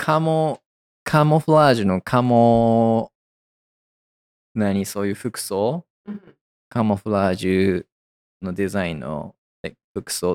カモフラージュのそういう服装カモフラージュのデザインの服装って、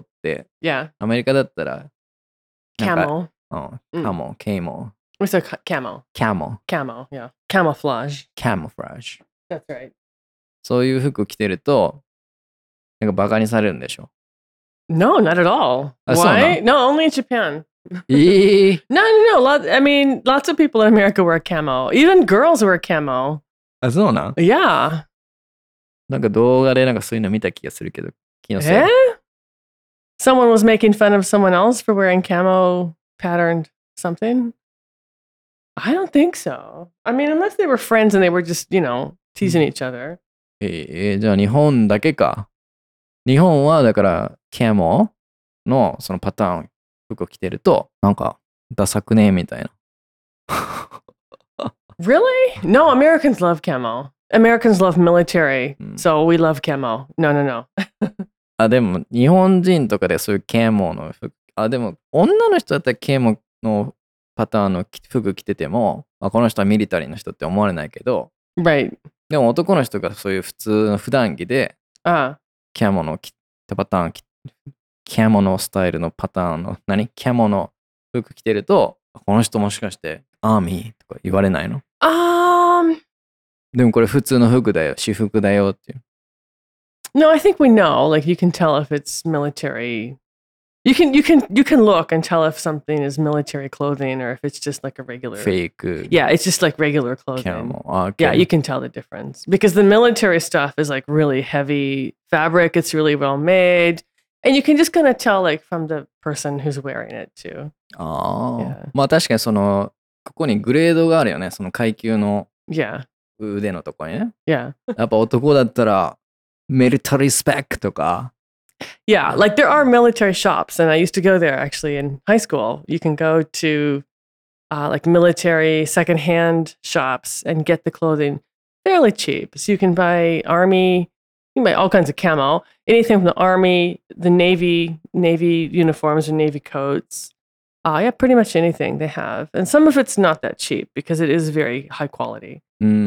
Yeah. アメリカだったら、なんか Camo. カモ、ケイモ、 We said camo. カモ、 Camo, yeah. Camouflage. カモフラージュ。 That's right. そういう服着てると、なんかバカにされるんでしょ。 No, not at all. Why? No, only in Japan. No. I mean, lots of people in America wear camo. Even girls wear camo. あ、そうなん Yeah. なんか動画でなんかそういうの見た気がするけど、気のせい。 Eh? Someone was making fun of someone else for wearing camo patterned something? I don't think so. I mean, unless they were friends and they were just, teasing each other. じゃあ日本だけか。日本はだからカモのそのパターン服を着てるとなんかダサくねみたいな。 Really? No, Americans love camo. Americans love military, so we love camo. No. あ、でも日本人とかでそういうカモの服、でも女の人だったらカモのパターンの服着てても、この人はミリタリーの人って思われないけど、 Right. でも男の人がそういう普通の普段着で、カモの着たパターン、カモのスタイルのパターンの、カモの服着てると、この人もしかしてアーミーとか言われないの？でもこれ普通の服だよ、私服だよっていう。 No, I think we know. Like you can tell if it's military. You can look and tell if something is military clothing or if it's just like a regular fake. Yeah, it's just like regular clothing. Camo. Okay. Yeah, you can tell the difference because the military stuff is like really heavy fabric. It's really well made, and you can just kind of tell like from the person who's wearing it too. まあ確かにここにグレードがあるよね。その階級の腕のとこにね。 Yeah. やっぱ男だったらミリタリースペックとか。 Yeah, like there are military shops, and I used to go there actually in high school. You can go to like military secondhand shops and get the clothing fairly cheap. So you can buy army, you can buy all kinds of camo, anything from the army, the navy uniforms or navy coats. Yeah, pretty much anything they have. And some of it's not that cheap because it is very high quality.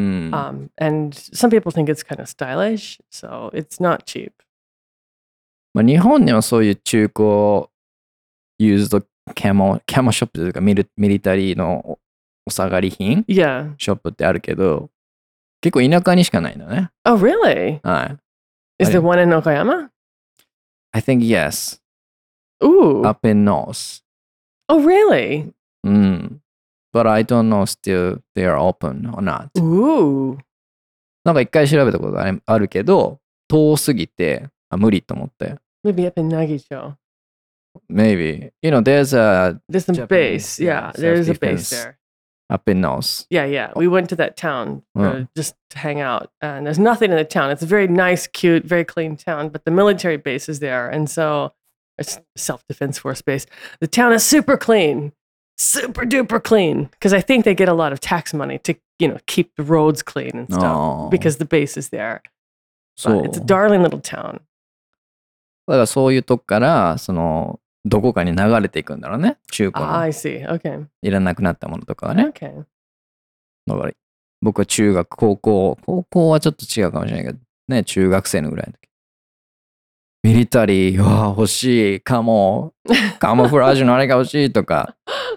And some people think it's kind of stylish, so it's not cheap. まあ、日本にはそういう中古ユーズドカモショップというかミリタリーのお下がり品、ショップってあるけど、結構田舎にしかないのね。 Oh, really? はい。 Is there one in Okayama? I think yes. Ooh. Up in north. Oh, really? But I don't know still they are open or not. Ooh. なんか一回調べたことがあるけど、遠すぎて、無理と思って。 Maybe up in Nagicho. Maybe. There's some Japanese, base. Yeah, there's a base there. Up in north. Yeah. We went to that town just to hang out. And there's nothing in the town. It's a very nice, cute, very clean town. But the military base is there. And so it's self-defense force base. The town is super clean. Super duper clean. Because I think they get a lot of tax money to, keep the roads clean and stuff. Because the base is there. But it's a darling little town. だからそういうとこからどこかに流れていくんだろうね。中古の。 I see. Okay. いらなくなったものとかはね。 Okay. だから僕は中学、高校はちょっと違うかもしれないけど、ね、中学生のぐらいの時。ミリタリー、欲しい、カモフラージュのあれが欲しいとか。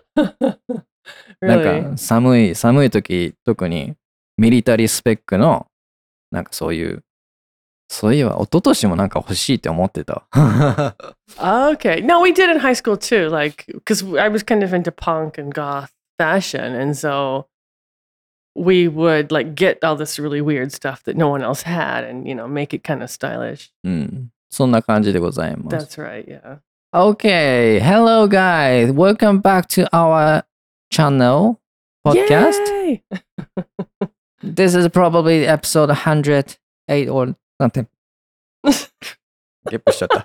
なんか寒い時、特にミリタリースペックの、なんかそういえば一昨年もなんか欲しいって思ってた。 Okay. No, we did in high school too. Like, because I was kind of into punk and goth fashion. And so we would like get all this really weird stuff that no one else had and, make it kind of stylish. そんな感じでございます。 That's right, yeah. Okay. Hello, guys. Welcome back to our channel podcast. Yay! This is probably episode 108 or something. ゲップしちゃった。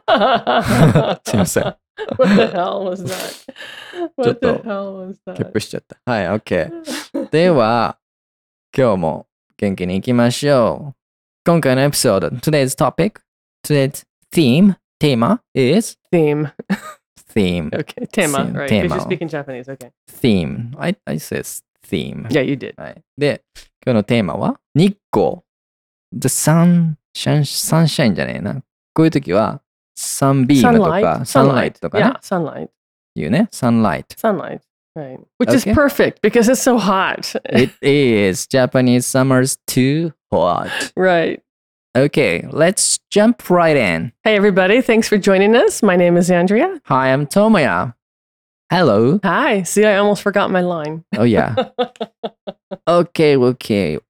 すいません。 What the hell was that? What the hell was that? ゲップしちゃった。はい、OK。では、今日も元気に行きましょう。今回のエピソード、today's topic, today's theme, テーマ is? Theme. theme. Okay, tema, right? Tema. Because you're speaking Japanese. Okay. Theme. I says theme. Yeah, you did. はい。で、今日のテーマは日光。The sunshine じゃねえな。こういう時は sunbeam とか sunlight とかね。 Yeah, sunlight. 言うね。sunlight. Sunlight. Right. Which is perfect because it's so hot. It is. Japanese summer's too hot. Right. Okay, let's jump right in. Hey, everybody. Thanks for joining us. My name is Andrea. Hi, I'm Tomoya. Hello. Hi. See, I almost forgot my line. Oh, yeah. Okay.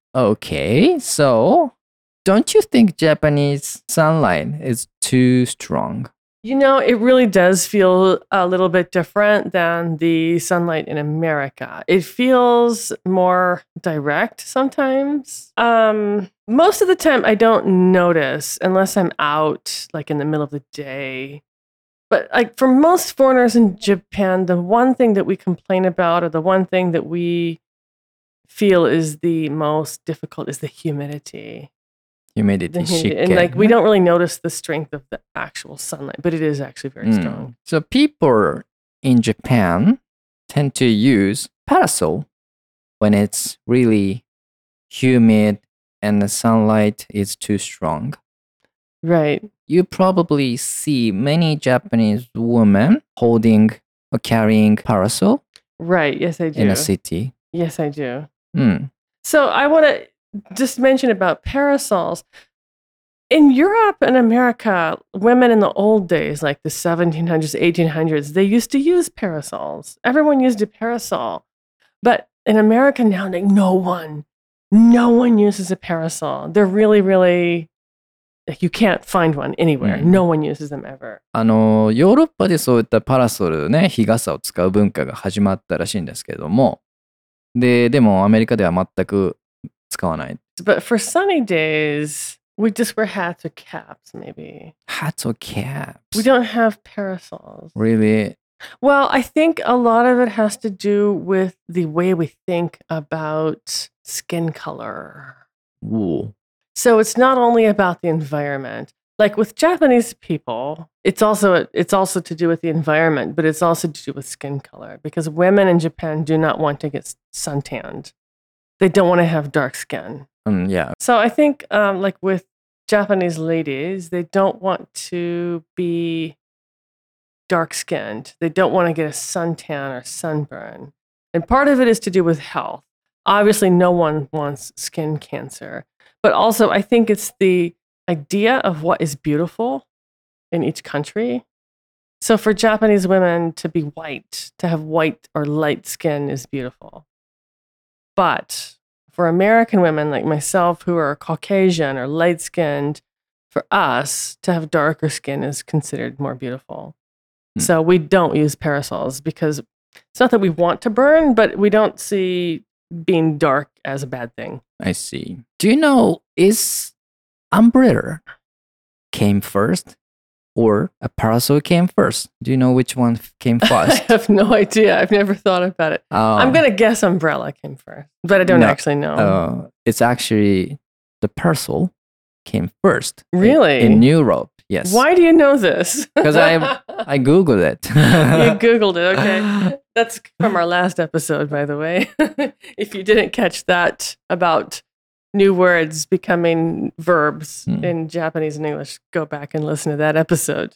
So, don't you think Japanese sunlight is too strong? You know, it really does feel a little bit different than the sunlight in America. It feels more direct sometimes. Most of the time, I don't notice unless I'm out, like in the middle of the day. But like for most foreigners in Japan, the one thing that we complain about, or the one thing that we feel is the most difficult, is the humidity. And like we don't really notice the strength of the actual sunlight, but it is actually very strong. So people in Japan tend to use parasol when it's really humid and the sunlight is too strong. Right. You probably see many Japanese women holding or carrying parasol. Right. Yes, I do. In a city. Yes, I do. So I want to just mention about parasols. In Europe and America, women in the old days, like the 1700s, 1800s, they used to use parasols. Everyone used a parasol. But in America now, like, no one uses a parasol. They're really, really, like, you can't find one anywhere. No one uses them ever. ヨーロッパでそういったパラソルね、日傘を使う文化が始まったらしいんですけれども、でもアメリカでは全く使わない。 But for sunny days, we just wear hats or caps, maybe. Hats or caps? We don't have parasols. Really? Well, I think a lot of it has to do with the way we think about skin color. Ooh. So it's not only about the environment. Like with Japanese people, it's also to do with the environment, but it's also to do with skin color because women in Japan do not want to get suntanned. They don't want to have dark skin. Yeah. So I think like with Japanese ladies, they don't want to be dark-skinned. They don't want to get a suntan or sunburn. And part of it is to do with health. Obviously, no one wants skin cancer. But also, I think it's the idea of what is beautiful in each country. So for Japanese women to be white, to have white or light skin is beautiful. But for American women like myself who are Caucasian or light-skinned, for us to have darker skin is considered more beautiful. So we don't use parasols because it's not that we want to burn, but we don't see being dark as a bad thing. I see. Do you know, is umbrella came first or a parasol came first? Do you know which one came first? I have no idea. I've never thought about it. I'm going to guess umbrella came first, but I don't actually know. It's actually the parasol came first. Really? In Europe, yes. Why do you know this? Because I Googled it. You Googled it, okay. That's from our last episode, by the way. If you didn't catch that about new words becoming verbs in Japanese and English, go back and listen to that episode.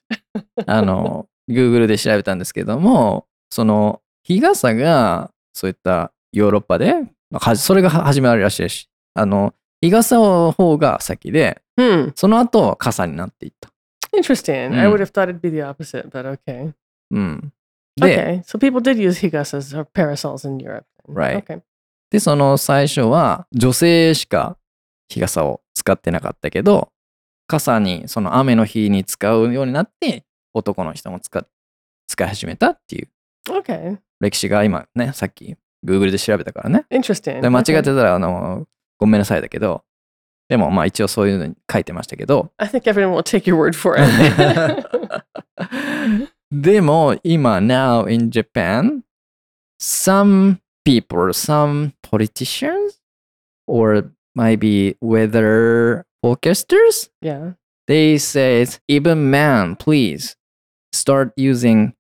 Google で調べたんですけども、その日傘がそういったヨーロッパで、それが始まりらしいし、日傘の方が先で、その後傘になっていった。 Interesting. I would have thought it'd be the opposite, but okay. Okay, so people did use higasas or parasols in Europe. Right. Okay. で、その最初は女性しか日傘を使ってなかったけど、傘にその雨の日に使うようになって男の人も使い始めたっていう歴史が今ね、さっき Google で調べたからね。 Interesting. で間違ってたらごめんなさいだけど、でもまあ一応そういうのに書いてましたけど。 I think everyone will take your word for it. でも今 now in Japan, some people, some politicians, or maybe weather forecasters, yeah, they say even man, please start using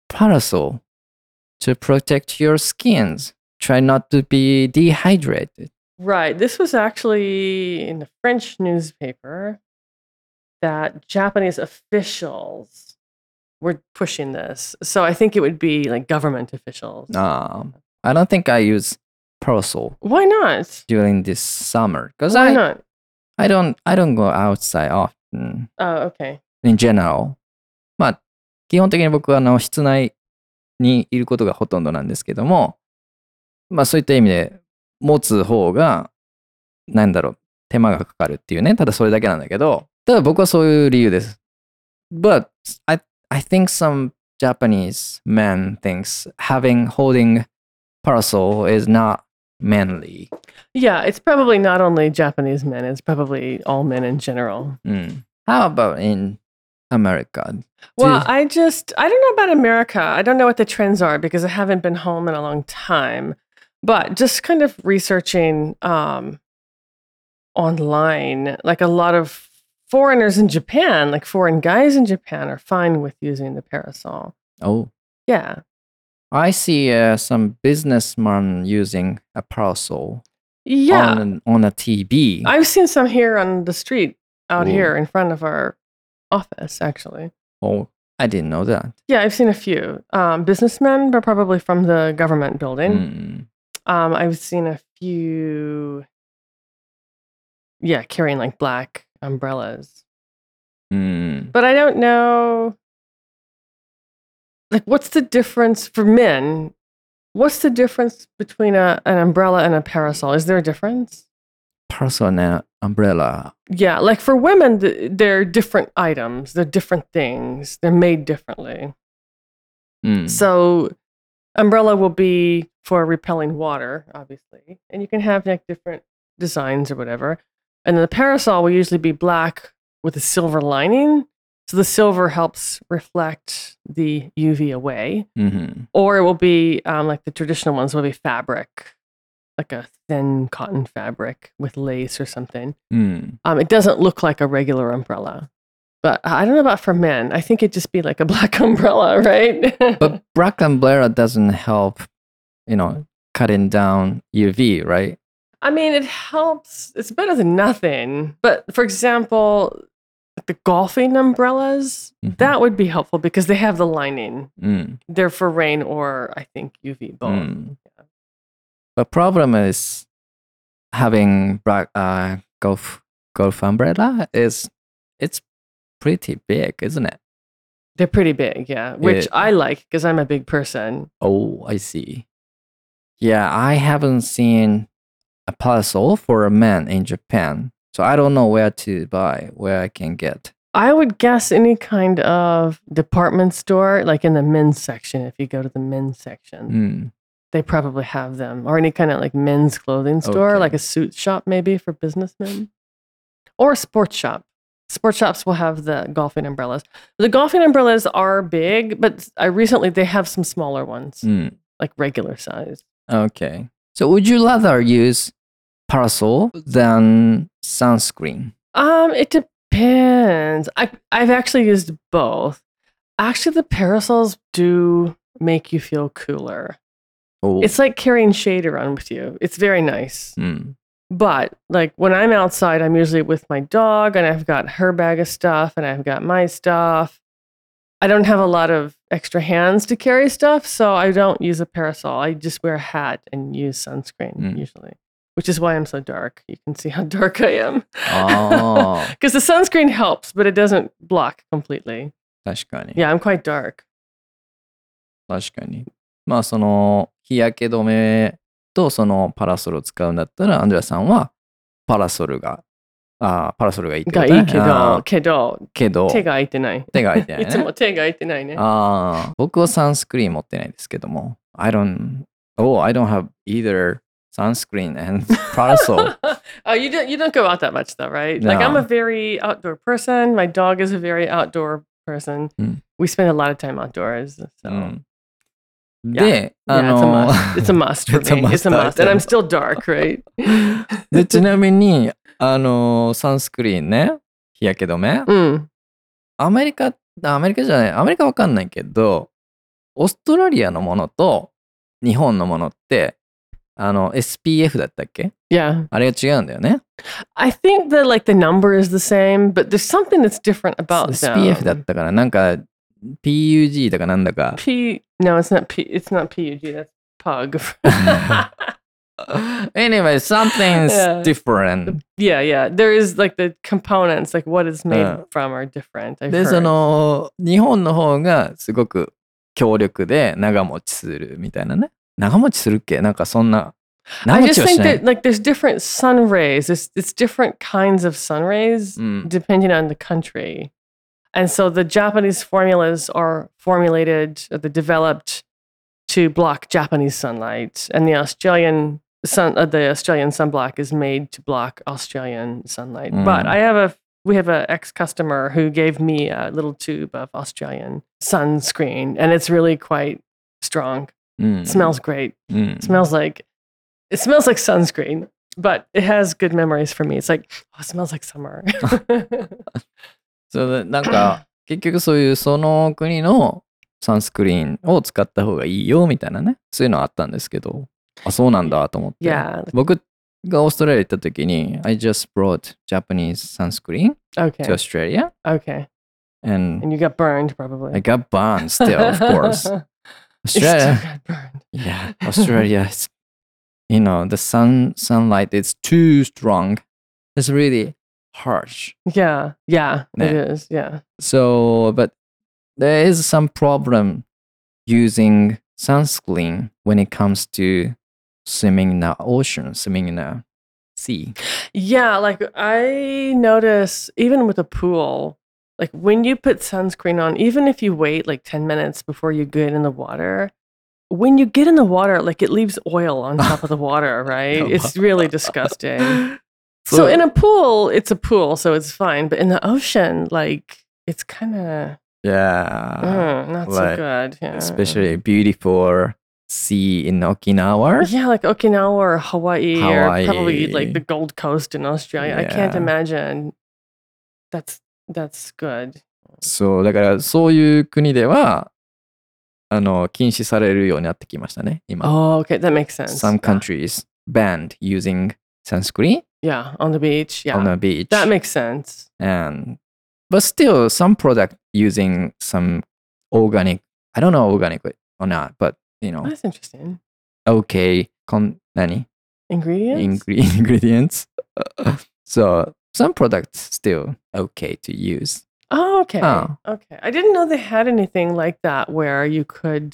parasol to protect your skins. Try not to be dehydrated. Right. This was actually in the French newspaper that Japanese officials were pushing this. So I think it would be like government officials. I don't think I use parasol Why not? during this summer because Why not? I don't go outside often Oh, okay. in general. まあ基本的に僕は室内にいることがほとんどなんですけども、まあそういった意味で持つ方がなんだろう手間がかかるっていうね、ただそれだけなんだけど、ただ僕はそういう理由です。But I think some Japanese men thinks holding parasol is not manly. Yeah, it's probably not only Japanese men, it's probably all men in general. How about in America? Well, I don't know about America. I don't know what the trends are because I haven't been home in a long time. But just kind of researching online, like a lot of foreigners in Japan, like foreign guys in Japan are fine with using the parasol. Oh. Yeah. I see some businessmen using a parasol Yeah. on a TV. I've seen some here on the street out Ooh. here in front of our office, actually. Oh, I didn't know that. Yeah, I've seen a few. Businessmen, but probably from the government building. I've seen a few, carrying like black umbrellas. But I don't know, like, what's the difference for men? What's the difference between an umbrella and a parasol? Is there a difference? Parasol and umbrella. Yeah, like for women, they're different items. They're different things. They're made differently. So umbrella will be for repelling water, obviously. And you can have like different designs or whatever. And then the parasol will usually be black with a silver lining. So the silver helps reflect the UV away. Or it will be like the traditional ones will be fabric, like a thin cotton fabric with lace or something. It doesn't look like a regular umbrella. But I don't know about for men. I think it'd just be like a black umbrella, right? But black umbrella doesn't help, cutting down UV, right? I mean, it helps. It's better than nothing. But for example, the golfing umbrellas, that would be helpful because they have the lining. They're for rain or, I think, UV both. Yeah. The problem is having black golf umbrella it's pretty big, isn't it? They're pretty big, yeah. Which I like because I'm a big person. Oh, I see. Yeah, I haven't seen a parasol for a man in Japan. So I don't know where I can get. I would guess any kind of department store, like in the men's section, if you go to the men's section. They probably have them. Or any kind of like men's clothing store, like a suit shop maybe for businessmen. Or a sports shop. Sports shops will have the golfing umbrellas. The golfing umbrellas are big, but recently they have some smaller ones, like regular size. Okay. So would you rather use parasol than sunscreen? It depends. I've actually used both. Actually, the parasols do make you feel cooler. Oh. It's like carrying shade around with you. It's very nice. But like when I'm outside, I'm usually with my dog and I've got her bag of stuff and I've got my stuff. I don't have a lot of extra hands to carry stuff, so I don't use a parasol. I just wear a hat and use sunscreen usually, which is why I'm so dark. You can see how dark I am. Oh. Because the sunscreen helps, but it doesn't block completely. 確かに。 Yeah, I'm quite dark. 確かに。まあその日焼け止めとそのパラソルを使うんだったらアンドレアさんはパラソルがいいってことね。 がいいけど手が空いてない。 手が空いてないね。 いつも手が空いてないね。 僕はサンスクリーン持ってないですけども。I don't have either sunscreen and parasol. Oh, you don't go out that much though, right? No. Like I'm a very outdoor person. My dog is a very outdoor person. We spend a lot of time outdoors. So. で、 it's a must for me. It's a must. And I'm still dark, right? で、ちなみに、サンスクリーンね、日焼け止め。アメリカわかんないけど、 オーストラリアのものと日本のものって、SPF だったっけ？ Yeah. あれが違うんだよね。 I think that like the number is the same, but there's something that's different about SPF だっ them. たから、なんか PUG だかなんだか。 No, it's not PUG, that's pug. Anyway, something's Yeah. different. Yeah. There is like the components, like what it's made from are different. I've で、 heard. 日本の方がすごく強力で長持ちするみたいなね。長持ちするっけ？なんかそんな。 I 長持 just ちはし think ない。 that like there's different sun rays. It's different kinds of sun rays depending on the country. And so the Japanese formulas are formulated, or they're developed to block Japanese sunlight, and the Australian sunblock is made to block Australian sunlight. But we have an ex-customer who gave me a little tube of Australian sunscreen, and it's really quite strong. It smells great. It smells like sunscreen, but it has good memories for me. It's like, oh, it smells like summer. そうなんか結局そういうその国のサンスクリーンを使った方がいいよみたいなね、そういうのあったんですけど、あ、そうなんだと思って。 Yeah. 僕がオーストラリア行った時に、I just brought Japanese sunscreen to Okay. Australia. Okay. And you got burned, probably. I got burned still, of course. You still Australia, got burned. yeah, Australia is, the sunlight is too strong. It's really harsh. Yeah, it 네. is. Yeah. So, but there is some problem using sunscreen when it comes to swimming in the ocean, swimming in the sea. Yeah, like I notice even with a pool, like when you put sunscreen on, even if you wait like 10 minutes before you get in the water, when you get in the water, like it leaves oil on top of the water, right? It's really disgusting. So in a pool, it's a pool, so it's fine. But in the ocean, like it's kind of not so good. Yeah. Especially beautiful sea in Okinawa. Yeah, like Okinawa or Hawaii or probably like the Gold Coast in Australia. I can't imagine. That's good. そう、だからそういう国では禁止されるようになってきましたね、今。 Oh, okay, that makes sense. Some countries banned using sunscreen. Yeah, on the beach. Yeah. On the beach. That makes sense. But still, some product using some organic, I don't know organic or not, but That's interesting. Okay, Ingredients? Ingredients. So some products still okay to use. Oh, okay. Okay. I didn't know they had anything like that where you could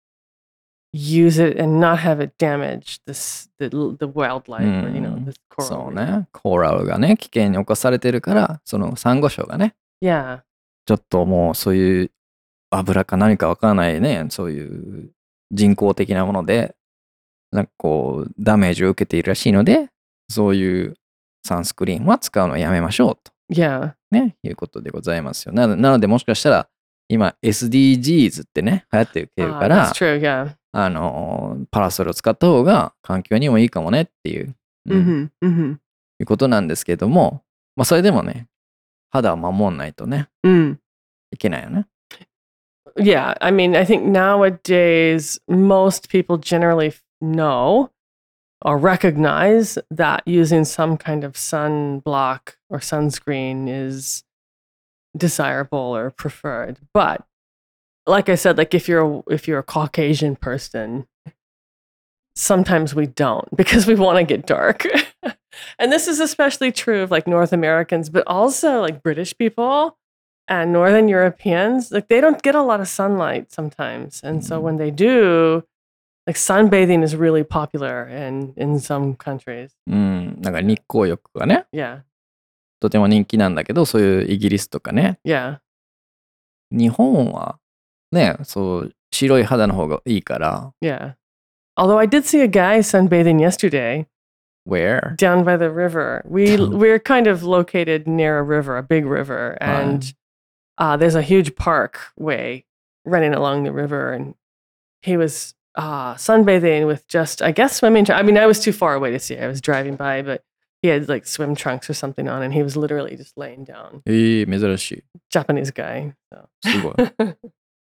use it and not have it damage the wildlife or the coral. そうね。コーラルがね、危険に侵されてるから、そのサンゴ礁がね、 Yeah. ちょっともうそういう油か何かわからないね、そういう人工的なもので、なんかこう、ダメージを受けているらしいので、そういうサンスクリーンは使うのをやめましょうと。 Yeah. ね、いうことでございますよ。なので、もしかしたら、今 SDGs ってね、流行ってるから、 That's true, yeah. パラソルを使った方が環境にもいいかもねっていう、いうことなんですけども、まあそれでもね、肌を守んないとね、いけないよね。 Yeah, I mean, I think nowadays most people generally know or recognize that using some kind of sunblock or sunscreen is desirable or preferred. But like I said, like if you're a Caucasian person, sometimes we don't because we want to get dark. And this is especially true of like North Americans, but also like British people and Northern Europeans. Like they don't get a lot of sunlight sometimes. And so when they do, like sunbathing is really popular in some countries. なんか日光浴がね、 Yeah. とても人気なんだけど、そういうイギリスとかね。 Yeah. 日本はね、そう白い肌の方がいいから。 Yeah. Although I did see a guy sunbathing yesterday. Where? Down by the river. We're kind of located near a river, a big river, and there's a huge parkway running along the river, and he was sunbathing with just, I guess, swimming. I mean, I was too far away to see. I was driving by, but he had like swim trunks or something on, and he was literally just laying down. 珍しい。 Japanese guy. So. すごい。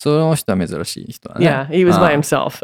その人は珍しい人だね。 Yeah, he was by himself.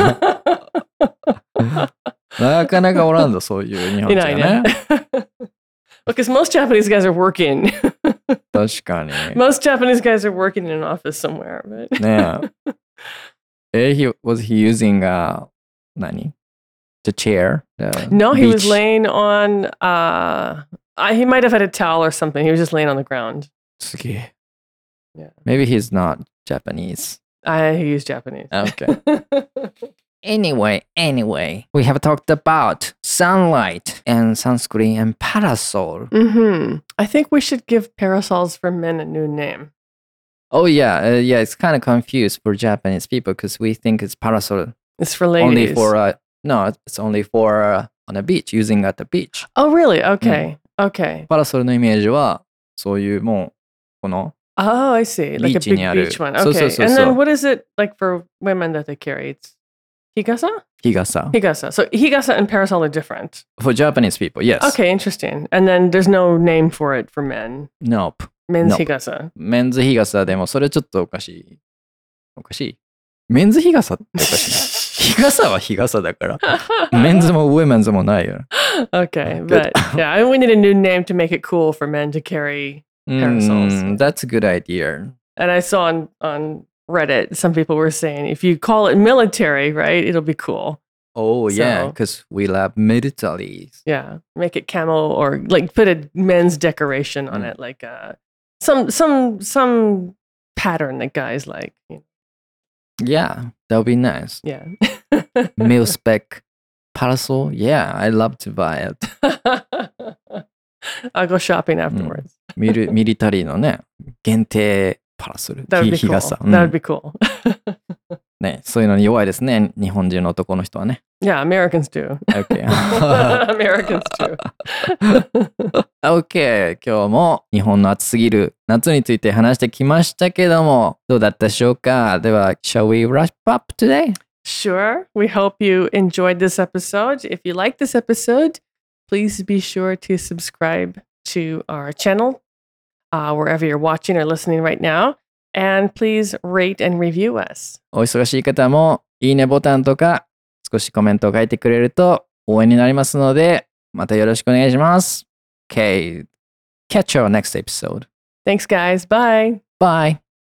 なかなかおらんぞ、そういう日本人はね。 Because most Japanese guys are working. 確かに。 Most Japanese guys are working in an office somewhere. But ねえ。was he using何 the chair? No, he was beach? laying on, he might have had a towel or something. He was just laying on the ground. すげえ。 Yeah. Maybe he's not Japanese. He was Japanese. Okay. Anyway, we have talked about sunlight and sunscreen and parasol. I think we should give parasols for men a new name. Oh yeah, it's kind of confused for Japanese people because we think it's parasol It's for ladies. only for no, it's only for on a beach, using at the beach. Oh, really? Okay. Okay. パラソルのイメージはそういうもうこの Oh, I see. Like a big ビーチにある。 beach one. そうそう Okay. そう And そう then what is it like for women that they carry? It's higasa? 日傘。 Higasa. So higasa and parasol are different. For Japanese people, yes. Okay, interesting. And then there's no name for it for men. Nope. Men's Nope. higasa. メンズ日傘でもそれちょっとおかしい。おかしい。メンズ日傘っておかしい。日傘は日傘だから。メンズもウェメンズもないよ。 Okay, Good. but yeah, we need a new name to make it cool for men to carry parasols. That's a good idea. And I saw on Reddit, some people were saying if you call it military, right, it'll be cool. Oh yeah, So- because we love militaries. Yeah, make it camo or like put a men's decoration on it, like some pattern that guys like. Yeah, that would be nice. Yeah. Mil spec parasol. Yeah, I love to buy it. I'll go shopping afterwards. ミリタリーのね、限定パラソル。 That would be 日 cool. 傘。 That would be cool. ね、そういうのに弱いですね、日本人の男の人はね。 Yeah, Americans do. OK。 Americans do. OK、今日も日本の暑すぎる夏について話してきましたけども、どうだったでしょうか。では、shall we wrap up today? Sure. We hope you enjoyed this episode. If you like this episode, please be sure to subscribe to our channel wherever you're watching or listening right now. And please rate and review us. お忙しい方もいいねボタンとか少しコメントを書いてくれると応援になりますので、またよろしくお願いします。Okay, catch our next episode. Thanks, guys. Bye. Bye.